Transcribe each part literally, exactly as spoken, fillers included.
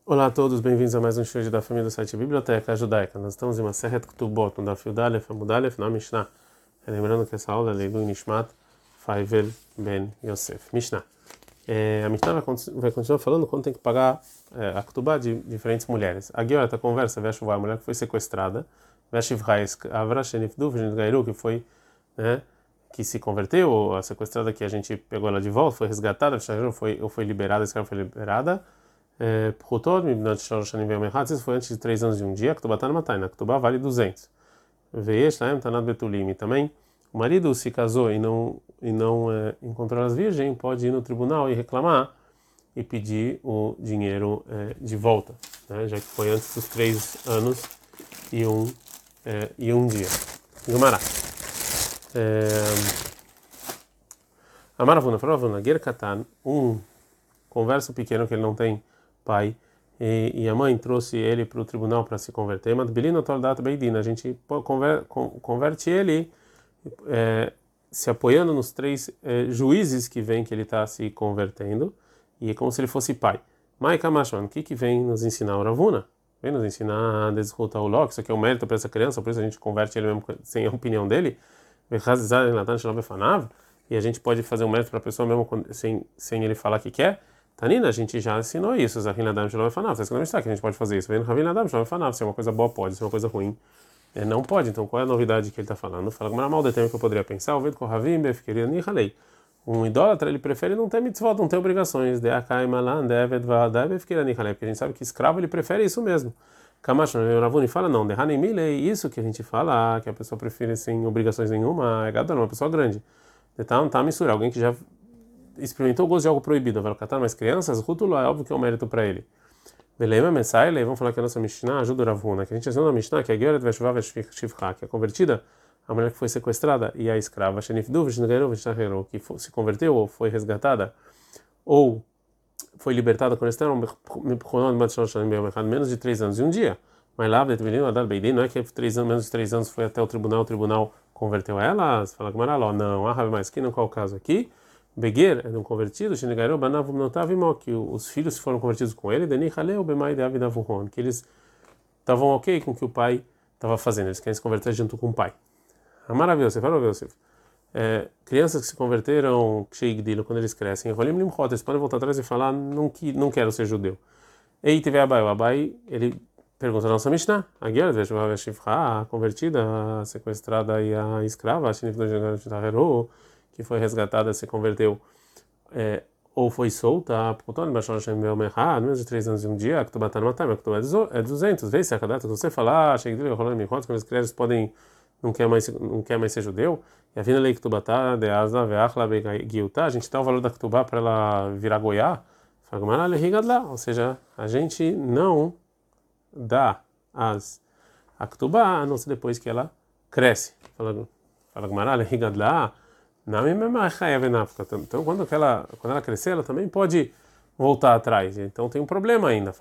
Olá a todos, bem-vindos a mais um show da família do site Biblioteca Judaica. Nós estamos em uma Masechet Ketubot, no Daf Yud Aleph, Amud Aleph, na Mishnah. Lembrando que essa aula é Leilu Nishmat Faivel Ben Yosef. Mishnah. É, a Mishnah vai, vai continuar falando quando tem que pagar é, a Ketubá de diferentes mulheres. A Guiora conversa, Veshuvá, a mulher que foi sequestrada, Veshivrai, Avra Shenifdu, Gairu, que foi, né, que se converteu, ou a sequestrada que a gente pegou ela de volta, foi resgatada, foi, ou foi liberada, a escrava foi liberada. Isso foi antes de três anos de um dia. Ketubá tá na Matai, na Ketubá vale duzentos. Veish laem tanat betulim. Também o marido se casou e não e não é, encontrou as virgens, pode ir no tribunal e reclamar e pedir o dinheiro é, de volta, né? Já que foi antes dos três anos e um é, e um dia. Gumará. Amaravuna, faravuna, ger katan, um converso pequeno que ele não tem pai, e, e a mãe trouxe ele para o tribunal para se converter. Matbilino toldat beidina, a gente conver, converte ele é, se apoiando nos três é, juízes que vem que ele está se convertendo, e é como se ele fosse pai. Maika Mashman, o que que vem nos ensinar o Ravuna? Vem nos ensinar a desrutar o Ló, isso aqui é um mérito para essa criança, por isso a gente converte ele mesmo sem a opinião dele. E a gente pode fazer um mérito para a pessoa mesmo sem, sem ele falar que quer. Tanina, a gente já ensinou isso. Zahinadam Shalom Efanav. Você não está que a gente pode fazer isso. Vem Ravinadam Shalom Efanav. Se é uma coisa boa, pode. Se é uma coisa ruim, é, não pode. Então, qual é a novidade que ele está falando? Fala como era mal de tempo que eu poderia pensar. O Ved Kohavim Befkeria Nihalei. Um idólatra, ele prefere não ter mitzvot, não ter obrigações. De Akai Malan, Devet Vadai Befkeria Nihalei. Porque a gente sabe que escravo, ele prefere isso mesmo. Kamash Ravuni fala, não. De Hanim Milei. Isso que a gente fala, que a pessoa prefere sem obrigações nenhuma, é gadol, uma pessoa grande. Então, tá mistura. Alguém que já experimentou o gosto de algo proibido, vai catar mais crianças, Rutulo é óbvio que é um mérito para ele. Beleza, mensai, vamos falar que a nossa Mishnah ajuda o Ravuna, que a gente ensina na Mishnah, que a Geret Veshuvá Veshivcha, que é convertida, a mulher que foi sequestrada, e a escrava, Shenifdu Veshnegairu Veshnegairu, que se converteu ou foi resgatada, ou foi libertada quando estavam menos de três anos e um dia. Mas lá, não é que três anos, menos de três anos foi até o tribunal, o tribunal converteu ela, fala que não, ah, mas que não qual o caso aqui. Beguer é um convertido, que os filhos foram convertidos com ele, que eles estavam ok com o que o pai estava fazendo, eles querem se converter junto com o pai. A maravilha, você falou, você é, crianças que se converteram quando eles crescem, eles podem voltar atrás e falar, não, que, não quero ser judeu. E teve Abai, o Abai, ele pergunta a nossa Mishnah, a guerra, a convertida, a sequestrada e a escrava, a que foi resgatada, se converteu, é, ou foi solta, menos de três anos e um dia, que tu bater no matar, que tu é duzentos, vê se a cada você falar, chega de rolando me quando as crianças podem, não quer mais, não quer mais ser judeu, e a vinda lei que tu bater, de asa, veachla, beguiutá, a gente dá o valor da ketubá para ela virar goiá, ou seja, a gente não dá as a ketubá, a não ser depois que ela cresce. Fala, fala Gmará, higadla. Então, quando ela, quando ela crescer, ela também pode voltar atrás. Então, tem um problema ainda.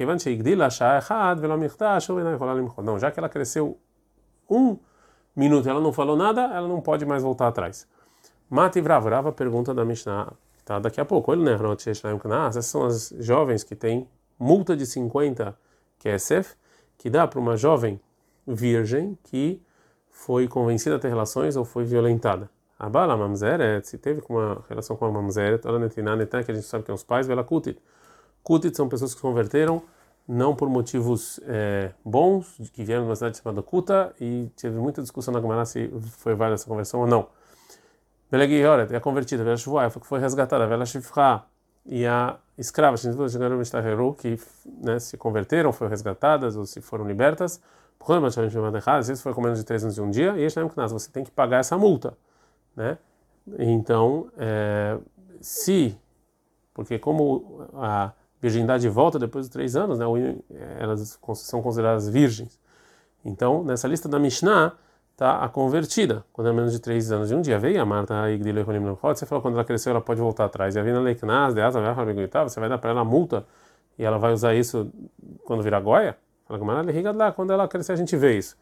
Não, já que ela cresceu um minuto e ela não falou nada, ela não pode mais voltar atrás. Mati Vrava, Vrava pergunta da Mishnah, tá daqui a pouco. Essas são as jovens que têm multa de cinquenta kesef, que dá para uma jovem virgem que foi convencida a ter relações ou foi violentada. A bala mamzeret, se teve uma relação com a mamzeret, ela netina netan, que a gente sabe que é os pais, vela kutit. Kutit são pessoas que se converteram não por motivos é, bons, que vieram de uma cidade chamada Kuta, e teve muita discussão na Gemara se foi válida essa conversão ou não. Belegioret é convertida, vela shvuá, foi resgatada, vela shivcha, e a escrava, que, né, se converteram, foram resgatadas ou se foram libertas, às vezes foi com menos de três anos de um dia, e você tem que pagar essa multa. Né? Então, é, se, porque como a virgindade volta depois de três anos, né, elas são consideradas virgens. Então, nessa lista da Mishnah, está a convertida, quando é menos de três anos de um dia. Veio a Marta e você falou quando ela cresceu, ela pode voltar atrás. E a Vina Leiknaz, você vai dar para ela a multa e ela vai usar isso quando virar goia? Quando ela crescer, a gente vê isso.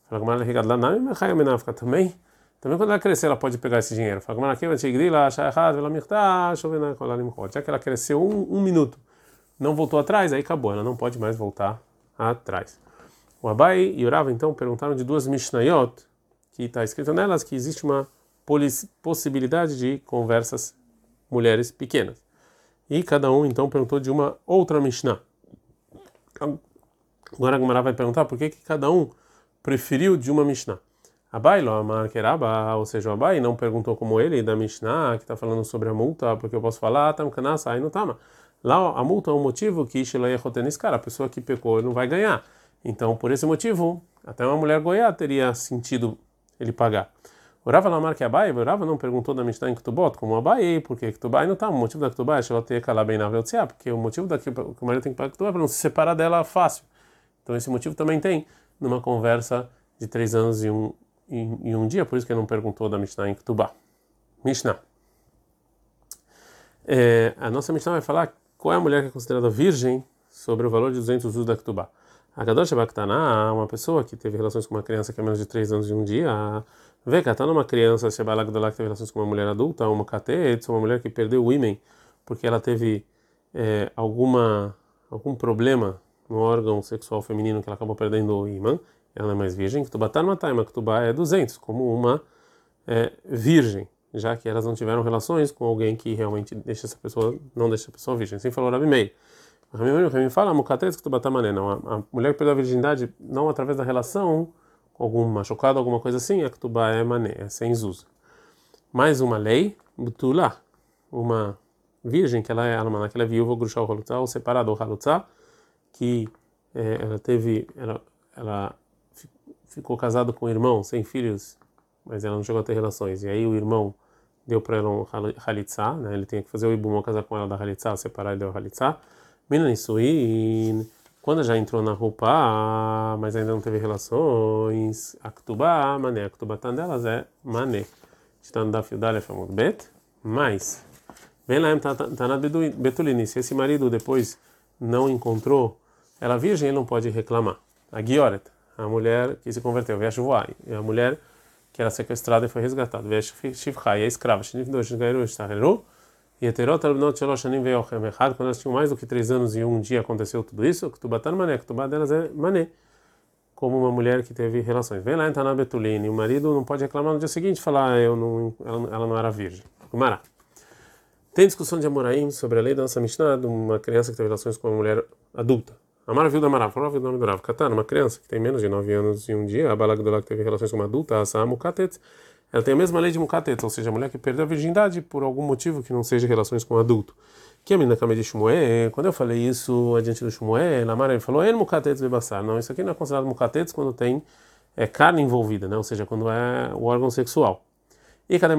Também. Também quando ela crescer, ela pode pegar esse dinheiro. Já que ela cresceu um, um minuto, não voltou atrás, aí acabou, ela não pode mais voltar atrás. O Abai e o Rava então perguntaram de duas Mishnayot, que está escrito nelas que existe uma possibilidade de conversas mulheres pequenas. E cada um então perguntou de uma outra Mishnah. Agora a Gemara vai perguntar por que, que cada um preferiu de uma Mishnah. Abai lo amar keraba, ou seja, o Abai não perguntou como ele da Mishnah, que está falando sobre a multa, porque eu posso falar, tam kanasa, aí não tama. Lá a multa é um motivo que a pessoa que pecou não vai ganhar. Então, por esse motivo, até uma mulher goiá teria sentido ele pagar. O Rava Lamar que Abai, o Rava não perguntou da Mishnah em Ketubot, como Abai, porque Ketubá não está. O motivo da Ketubá é que ela tem que calar bem na Veltziá, porque o motivo da que o marido tem que pagar Ketubá é para não se separar dela fácil. Então, esse motivo também tem numa conversa de três anos e um, e, e um dia, por isso que ele não perguntou da Mishnah em Ketubá. Mishnah. É, a nossa Mishnah vai falar qual é a mulher que é considerada virgem sobre o valor de duzentos usos da Ketubá. A Gadosh Baktaná, uma pessoa que teve relações com uma criança que é menos de três anos e um dia, vê que está numa criança, se que teve relações com uma mulher adulta, uma catet, uma mulher que perdeu o ímen porque ela teve é, alguma algum problema no órgão sexual feminino que ela acabou perdendo o ímã, ela não é mais virgem. Ketubá tá numa taima, Ketubá é duzentos, como uma é, virgem, já que elas não tiveram relações com alguém que realmente deixa essa pessoa, não deixa a pessoa virgem. Assim falou Rabi Meir. O Rabi fala, mukatetz Ketubá tá mané, não, a mulher que perdeu a virgindade não através da relação com algum machucado, alguma coisa assim, a Ketubá é mané, é sem zuz. Mais uma lei, butula, uma virgem que ela é almaná, que ela é viúva, grushá ou halutzá, ou separada ou halutzá, que é, ela teve, ela, ela ficou casada com o irmão, sem filhos, mas ela não chegou a ter relações. E aí o irmão deu para ela um halitzá, né? Ele tinha que fazer o ibumó, casar com ela da halitzá, separar e deu halitzá. Menanisuin, quando já entrou na roupa, mas ainda não teve relações, a Ketubá, mané, a Ketubá delas é mané. Está no Daf Yudalef Amud Bet, mas vem lá, está na Betulini, se esse marido depois não encontrou ela virgem, ele não pode reclamar. A Gioret, a mulher que se converteu, Vesh Voai, a mulher que era sequestrada e foi resgatada, Vesh Shivchai, a escrava, Shnif Dosh Gairu Shtaheru, e Eterot Albinot Sheloshanim Veochem Echad, quando elas tinham mais do que três anos e um dia aconteceu tudo isso, Ketubatan Mané, Ketubá delas é Mané, como uma mulher que teve relações. Vem lá, entra na Betulini, o marido não pode reclamar no dia seguinte, falar, eu não, ela, ela não era virgem. Gumará. Tem discussão de Amoraim sobre a lei da nossa Mishnah de uma criança que teve relações com uma mulher adulta. Amar viu da Marav, falou viu do nome do Rav. Katana, uma criança que tem menos de nove anos e um dia, a Balagdolá que teve relações com uma adulta, a Sa'a Mukatet, ela tem a mesma lei de Mukatet, ou seja, a mulher que perdeu a virgindade por algum motivo que não seja relações com um adulto. Que a menina cama de Shmuel, quando eu falei isso adiante do Shmuel, a Mara ele falou, ele Mukatet bebassar. Não, isso aqui não é considerado Mukatet quando tem é, carne envolvida, né? Ou seja, quando é o órgão sexual. E cadê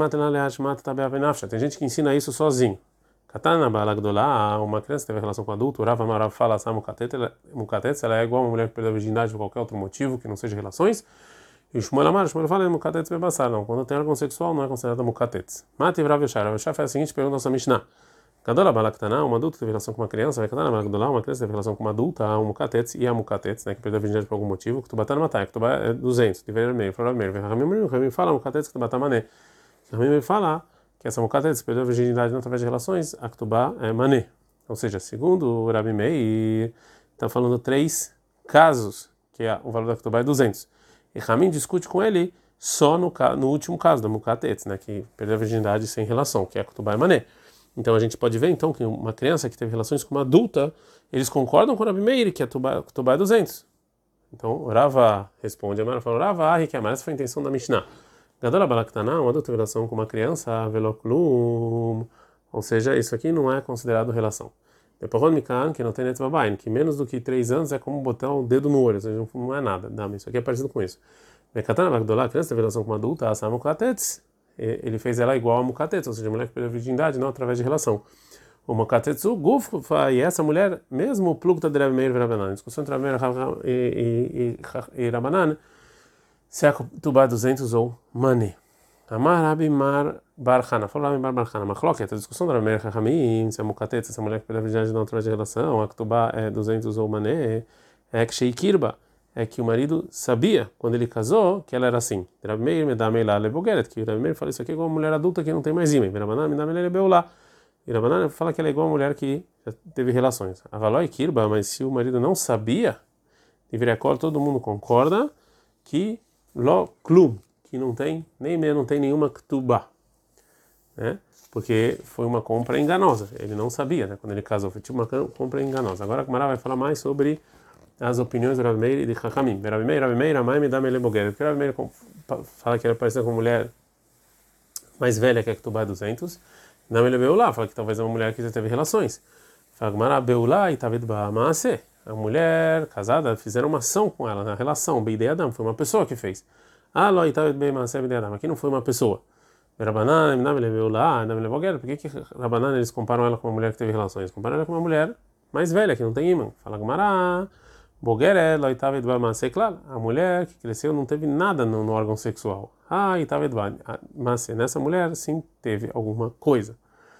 tem gente que ensina isso sozinho. Katana Balagdolá, uma criança que teve relação com adulto, Rav Amarav fala essa mukatetz, ela é igual a uma mulher que perdeu a virgindade por qualquer outro motivo que não seja relações. E o Shmuel Amar, o Shmuel fala mukatetz bebassar, não. Quando tem órgão sexual não é considerada mukatetz. Mati Rav Yeshar, Rav Yeshar faz a seguinte pergunta nossa Mishnah. Kadola Balaktaná, uma adulta que teve relação com uma criança, vai Katana Balagdolá, uma criança que teve relação com uma adulta, a um mukatetz e a mukatetz, né, que perdeu a virgindade por algum motivo, que tu batar matar, que tu é duzentos, de ver meio, fala meio, Ramim fala mukatetz que tu batar mané. Ramim fala que essa mukatetz perdeu a virgindade não através de relações, a Ketubá é mané. Ou seja, segundo o Rabi Meir, está falando três casos, que é, o valor da Ketubá é duzentos. E Ramim discute com ele só no, no último caso, da mukatetz, né, que perdeu a virgindade sem relação, que é a Ketubá é mané. Então a gente pode ver então que uma criança que teve relações com uma adulta, eles concordam com o Rabi Meir que a Ketubá é duzentos. Então o Rava responde, a Mara falou, Rava, ah, que a essa foi a intenção da Mishnah. Gadola Balaktaná, uma adulta relação com uma criança, veloklum, ou seja, isso aqui não é considerado relação. Depois Mikan, que não tem netvabain, que menos do que três anos é como botar o dedo no olho, ou seja, não é nada, isso aqui é parecido com isso. Mekatana Bagdolá, a criança teve relação com uma adulta, a Mukatetz, ele fez ela igual a Mukatetz, ou seja, a mulher que perdeu a virgindade, não através de relação. O Mukatetzu, Guffa, e essa mulher, mesmo o plugta de Rabi Meir e Rabanan, discussão entre Rabi Meir e Rabanan, se é Ketubá duzentos ou mané. Amar Rabi Mar Barhana, falou Rabi Mar Barhana, Machloket, a discussão da Rabi Meir Chachamim, se é Mukatetz, essa mulher que perdeu a virgindade não através de relação, a Ketubá é duzentos ou mané, é que Sheikirba, é que o marido sabia, quando ele casou, que ela era assim. Rabi Meir me dá meilá lebogeret, que Rabi Meir fala isso aqui com uma mulher adulta que não tem mais ímã. Rabanan me dá meilá lebeulá. E Rabanan fala que ela é igual a mulher que já teve relações. Avaloi kirba, mas se o marido não sabia, deveria acordar, todo mundo concorda que lo klum, que não tem nem não tem nenhuma ktubá, né? Porque foi uma compra enganosa. Ele não sabia, né? Quando ele casou, foi tipo uma compra enganosa. Agora a Gemara vai falar mais sobre as opiniões do Rav Meir e de Chachamim. Rav Meir, Rav Meir, Amai me dá mele boguer. Porque Rav Meir fala que ele parecida com uma mulher mais velha que a Ktubá duzentos. Não ele veio lá, fala que talvez é uma mulher que já teve relações. Fala Gemara, Beulá e Tavid Ba'amase. A mulher casada, fizeram uma ação com ela na relação. Beidei Adam, foi uma pessoa que fez. Ah, Ló e Tavid Ba'amase, Beidei Adam. Aqui não foi uma pessoa. Rabanan, não ele veio lá, não ele boguer. Por que que Rabanan eles comparam ela com uma mulher que teve relações? Comparam ela com uma mulher mais velha que não tem imã. Fala Gemara. Boguer, Ló e Tavid Ba'amase, claro. A mulher que cresceu não teve nada no, no órgão sexual. Ah, e Tavid Ba'amase. Nessa mulher sim teve alguma coisa.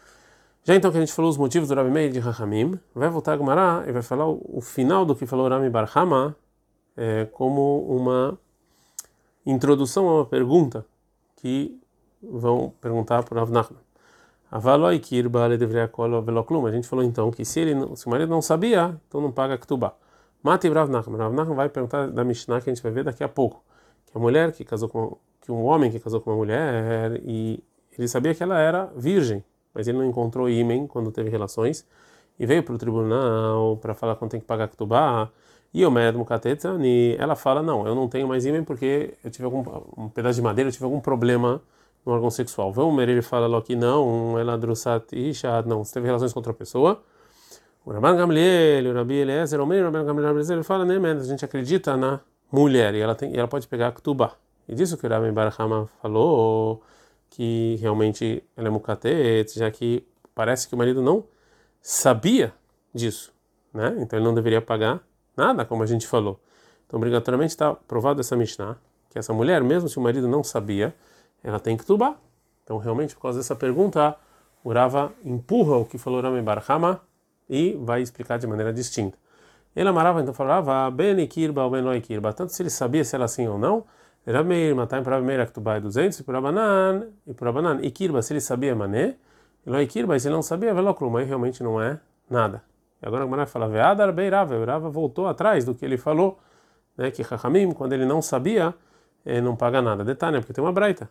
Já então que a gente falou os motivos do Rabi Meir de Chachamim, vai voltar a Gemara e vai falar o, o final do que falou Rami Bar Hama é, como uma introdução a uma pergunta que vão perguntar para Rav Nachman. Avaloi kirba le deveria kol velo klum. A gente falou então que se ele não, se o marido não sabia, então não paga ktubá. Mate Rav Nachman. Rav Nachman vai perguntar da Mishnah que a gente vai ver daqui a pouco, que a mulher que casou com que um homem que casou com uma mulher e ele sabia que ela era virgem, mas ele não encontrou ímen quando teve relações e veio para o tribunal para falar quando tem que pagar ktubá. E o médico Mukatetani, ela fala não, eu não tenho mais ímen porque eu tive algum um pedaço de madeira, eu tive algum problema no órgão sexual. Vamos ele fala lá que não, ela drusat isha, não, você teve relações com outra pessoa. O Rabban Gamliel, o Rabi Eliezer, o Rabban Gamliel, ele fala, né, a gente acredita na mulher e ela tem, e ela pode pegar ktubá. E disso que o Rabbi Bar Hama falou que realmente ela é mukatet, já que parece que o marido não sabia disso, né? Então ele não deveria pagar nada, como a gente falou. Então obrigatoriamente está provado essa Mishnah que essa mulher, mesmo se o marido não sabia, ela tem que tubar. Então, realmente, por causa dessa pergunta, o Rava empurra o que falou Rami Bar Hama e vai explicar de maneira distinta. Ele amarava, então falava, ben ikirba ou ben lo ikirba. Tanto se ele sabia se era assim ou não, Rameir, Matai, para Rameir, Aktubá é duzentos, e para Rabanan, e para Rabanan, ikirba, se ele sabia mané, e lo ikirba, e se ele não sabia, velocrum, aí realmente não é nada. E agora a Gemara fala, veadar beirava, o Rava voltou atrás do que ele falou, né, que Chachamim, quando ele não sabia, não paga nada. Detalhe, porque tem uma braita.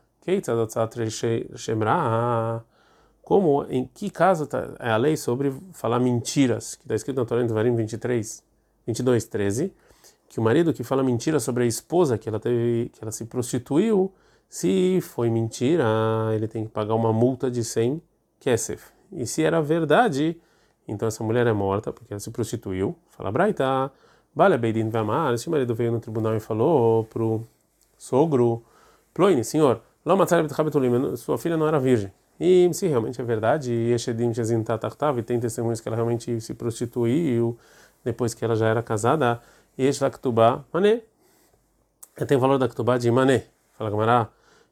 Como, em que caso tá, é a lei sobre falar mentiras, que está escrito na Torá em Devarim vinte e três, vinte e dois, treze, que o marido que fala mentira sobre a esposa, que ela teve, que ela se prostituiu, se foi mentira, ele tem que pagar uma multa de cem kesef. E se era verdade, então essa mulher é morta, porque ela se prostituiu. Fala braita, vale beidin vamar, se o marido veio no tribunal e falou pro sogro, Ploine, senhor, sua filha não era virgem. E se realmente é verdade, e tem testemunhos que ela realmente se prostituiu depois que ela já era casada, e mané, tem valor da ktubá de mané. Fala Gamara,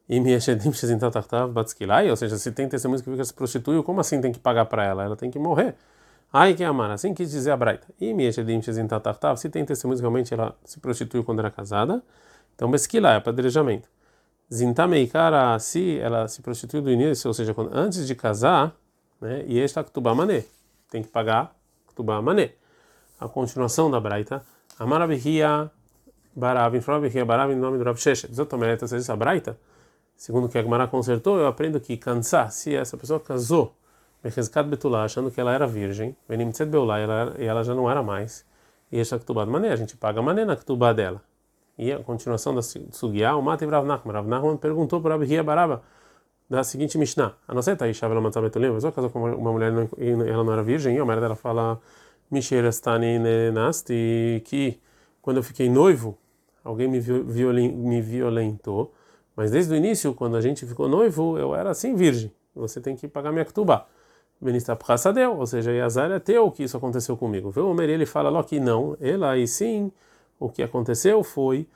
ou seja, se tem testemunhos que fica se prostituiu, como assim tem que pagar para ela? Ela tem que morrer. Ai que amar, assim quis dizer a braita. E se tem testemunhos que realmente ela se prostituiu quando era casada, então, Besquilá é apedrejamento. Zintameikara, se ela se prostituiu do início, ou seja, quando, antes de casar, né, e esta ktubá mané, tem que pagar ktubá mané. A continuação da braita, Amarabihia Barav, Infrabihia Barav, em nome do Rav Sheshet. Exatamente, essa é a braita, segundo que a Gemara consertou, eu aprendo que cansar, se essa pessoa casou, Becheskat Betulá, achando que ela era virgem, Benimtzet Beulá, e ela já não era mais, e esta ktubá mané, a gente paga mané na ktubá dela. E a continuação da Sugiá, o Mate Rav Nachman. Rav Nachman perguntou para Rabi Hia Baraba da seguinte Mishnah: a não ser Taisha ela matar Betulim, mas casou com uma mulher e ela não era virgem, e a mulher dela fala Misherastani Nenasti, que quando eu fiquei noivo, alguém me, violen, me violentou, mas desde o início, quando a gente ficou noivo, eu era assim virgem. Você tem que pagar minha ktubá. Benista Prasadeu, ou seja, Yazar é teu que isso aconteceu comigo. Viu? O Meri ele fala lá que não, ela aí sim. O que aconteceu foi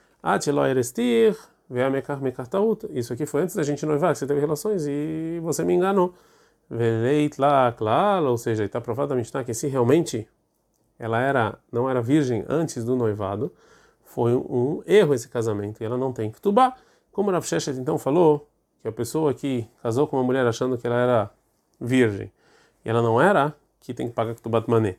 isso aqui foi antes da gente noivar, que você teve relações e você me enganou. Ou seja, está provado a Mishnah que se realmente ela era, não era virgem antes do noivado, foi um erro esse casamento e ela não tem ktubá. Como Rav Sheshet então falou que a pessoa que casou com uma mulher achando que ela era virgem e ela não era, que tem que pagar Ktubat Mané.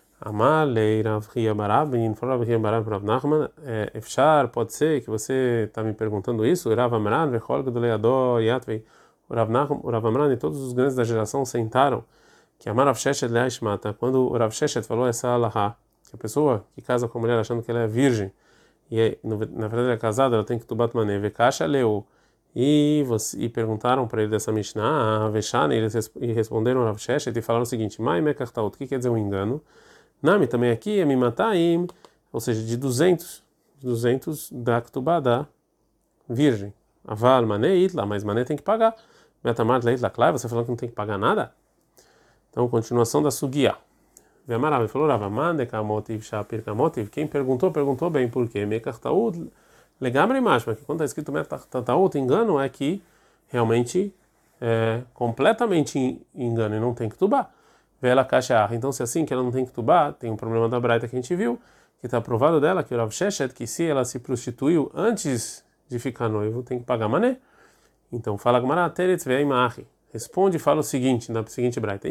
Amalei Rav Hia Barabin, Rav Hia Barabin, Rav Nachman, Efshar, pode ser que você está me perguntando isso, Rav Amran, Vechol Gedoleador, Yatvei, o Rav Nachman, o Rav Amran e todos os grandes da geração sentaram que Amar Rav Sheshet Leishmata, quando o Rav Sheshet falou essa alahá, que a pessoa que casa com a mulher achando que ela é virgem, e é, na verdade ela é casada, ela tem que tubat mané, vekasha leu, e, você, e perguntaram para ele dessa Mishnah, a Veshane, e eles e responderam Rav Sheshet e falaram o seguinte, Mai mekartaut, o que quer dizer um engano? Nami também aqui é mimataim, ou seja, de duzentos, duzentos da ktubá da virgem. Aval mané itla, mas mané tem que pagar. Metamar leitla klai, você falou que não tem que pagar nada? Então, continuação da sugia. Vemarav falou, Rava, mande kamotiv shapir kamotiv. Quem perguntou, perguntou bem, por quê? Mekartaut, legamre mashma, que quando está escrito mekartaut, engano é que realmente é completamente engano e não tem ktubá. Vela caixa. Então, se é assim que ela não tem ktubá, tem um problema da braita que a gente viu, que está provado dela, que o Rav Sheshet, que se ela se prostituiu antes de ficar noivo, tem que pagar mané. Então, fala Gmará, teretz ve'imach. Responde e fala o seguinte, na seguinte braita,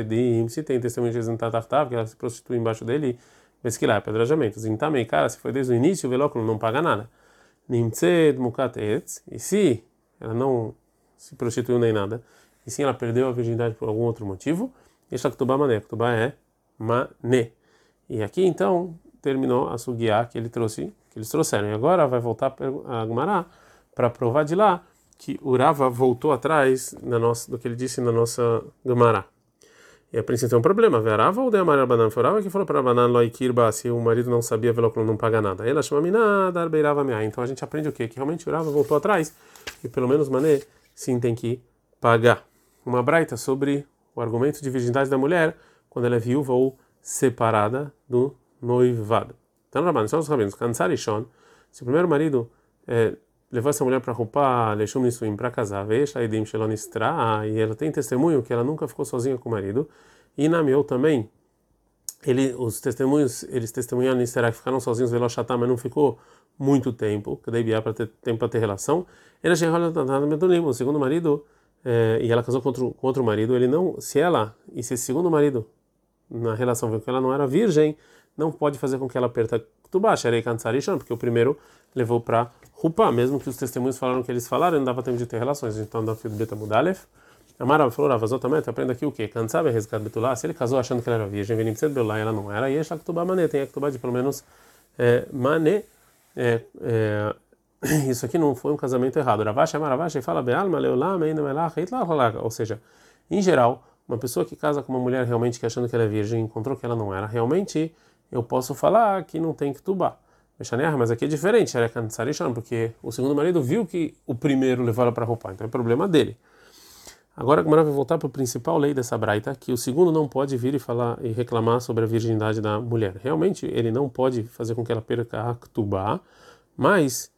se tem testemunho de Zentatachtav, que ela se prostitui embaixo dele, vê que lá é apedrejamento. Zintamei, cara, se foi desde o início, o velóculo não paga nada. Nimtzed mukatetz, e se ela não se prostituiu nem nada, e sim ela perdeu a virgindade por algum outro motivo, esta ktubá mané, ktubá é mané. E aqui então terminou a sugiá que ele trouxe, que eles trouxeram. E agora vai voltar a Gmará para provar de lá que o Rava voltou atrás na nossa, do que ele disse na nossa Gemara. E a princípio tem um problema. Verava ou de Amar Rabanan? Foi Rava que falou para Rabanan loikirba, se o marido não sabia, velóculo não paga nada. Ela chama mina darbeirava meai. Então a gente aprende o quê? Que realmente o Rava voltou atrás e pelo menos mané sim tem que pagar. Uma braita sobre o argumento de virgindade da mulher quando ela é viúva ou separada do noivado. Então, Rabanan, são os rabinos. Kansar Ishon, se o primeiro marido é, levou essa mulher para roupa, leshum nisuim, para casar, veja, edim shelonistra, e ela tem testemunho que ela nunca ficou sozinha com o marido, e na meu também, ele, os testemunhos, eles testemunharam nistra que ficaram sozinhos, velochatá, mas não ficou muito tempo, que daí para ter tempo para ter relação, ela já enrola nada medolim, o segundo marido, é, e ela casou com outro, com outro marido, ele não, se ela, e se esse segundo marido, na relação viu que ela não era virgem, não pode fazer com que ela perca tubá, xerei kantsarishon, porque o primeiro levou para Rupa, mesmo que os testemunhos falaram que eles falaram, não dava tempo de ter relações. Então, da filho Beta Mudalef, Amara falou, Ravazotamente, aprenda aqui o quê? Cansabe a resgate Betulá, se ele casou achando que ela era virgem, venim cedo Belá e ela não era, e esta Ktubá Mané, tem a Ktubá de pelo menos é, Mané. É, é, isso aqui não foi um casamento errado. Ravashi Amaravashi fala Bealma, Leolá, Meina Melach, ou seja, em geral, uma pessoa que casa com uma mulher realmente que achando que ela é virgem, encontrou que ela não era, realmente eu posso falar que não tem Ktubá. Mas aqui é diferente, porque o segundo marido viu que o primeiro levou ela para roupa, então é problema dele. Agora a Gemara vai voltar para a principal lei dessa braita, que o segundo não pode vir e falar e reclamar sobre a virgindade da mulher. Realmente ele não pode fazer com que ela perca a ktubá, mas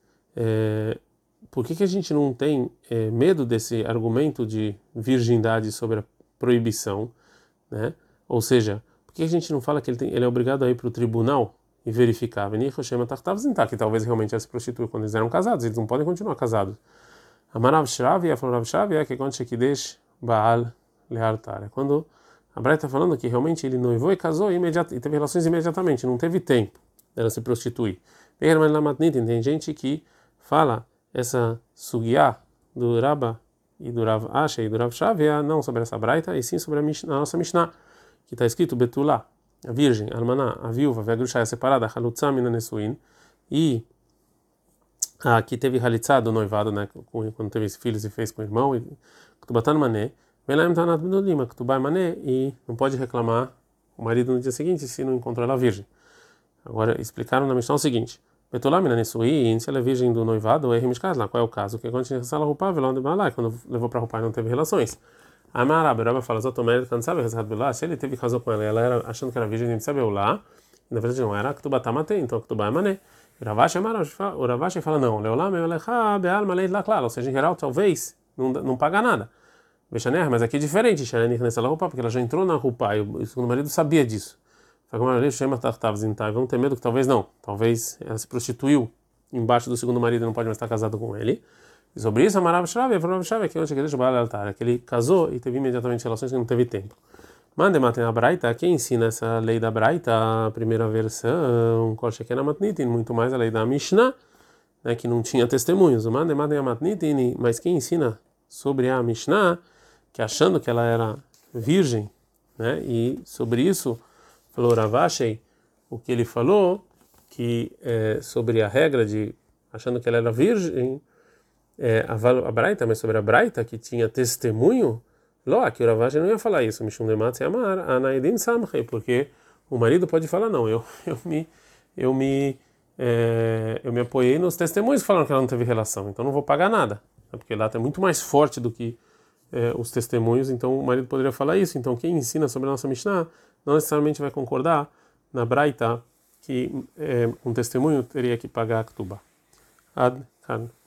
é, por que que a gente não tem é, medo desse argumento de virgindade sobre a proibição, né? Ou seja, por que a gente não fala que ele, tem, ele é obrigado a ir para o tribunal e verificar, que talvez realmente ela se prostitui quando eles eram casados, eles não podem continuar casados. Amarav Shravia falou Rav Shravia que quando Shekidesh Baal Leartar, quando a Braita está falando que realmente ele noivou e casou e, e teve relações imediatamente, não teve tempo dela se prostituir. Tem gente que fala essa sugiá do Rabba e do Rav Asha e do Rav Shravia não sobre essa Braita, e sim sobre a, Mishnah, a nossa Mishnah, que está escrito Betulá, a virgem, a almaná, a viúva, a grusha separada, halutzá mina nesuin, e a que teve halitzá do noivado, né, quando teve filhos e fez com o irmão, e ktubatan mané, velaim tanat benolima, ktubá mané, e não pode reclamar o marido no dia seguinte se não encontrou ela virgem. Agora, explicaram na Mishnah o seguinte, betulá mina nesuin, se ela é virgem do noivado, é rimishkaz lá, qual é o caso? Que quando tinha que ela roupa, velão de balai, quando levou para roupa e não teve relações. A Marab, o Rabba fala, se ele teve casou com ela, ela era achando que era virgem, nem sabe lá, e na verdade não era, Ktubá Tamatei, então Ktubá é mané. O Ravashi fala, não, Leolá, Meolecha, Bealma, Leit Laklar, ou seja, em geral, talvez não, não paga nada. Vechaner, mas aqui é diferente, Xarenik nessa roupa, porque ela já entrou na roupa, e o segundo marido sabia disso. Vamos ter medo que talvez não, talvez ela se prostituiu embaixo do segundo marido e não pode mais estar casado com ele. E sobre isso, a Marav Shravia, a Marav Shravia, que onde que deixa o Baal altar, que ele casou e teve imediatamente relações que não teve tempo. Mande matem a Braita, quem ensina essa lei da Braita, a primeira versão, Kol Sheken Matnitin, muito mais a lei da Mishnah, né, que não tinha testemunhos. Mande matem a Matnitin, mas quem ensina sobre a Mishnah, que achando que ela era virgem, né, e sobre isso falou Ravashei, o que ele falou, que é, sobre a regra de achando que ela era virgem, é, a, a Braita, mas sobre a Braita que tinha testemunho, Ló, que o Ravashei não ia falar isso, Mishum Demat se amar, Anaedim Samchei, porque o marido pode falar não, eu eu me eu me é, eu me apoiei nos testemunhos que falaram que ela não teve relação, então não vou pagar nada, né, porque lá é muito mais forte do que é, os testemunhos, então o marido poderia falar isso. Então quem ensina sobre a nossa Mishnah não necessariamente vai concordar na Braita que é, um testemunho teria que pagar a Ketubá. Ad,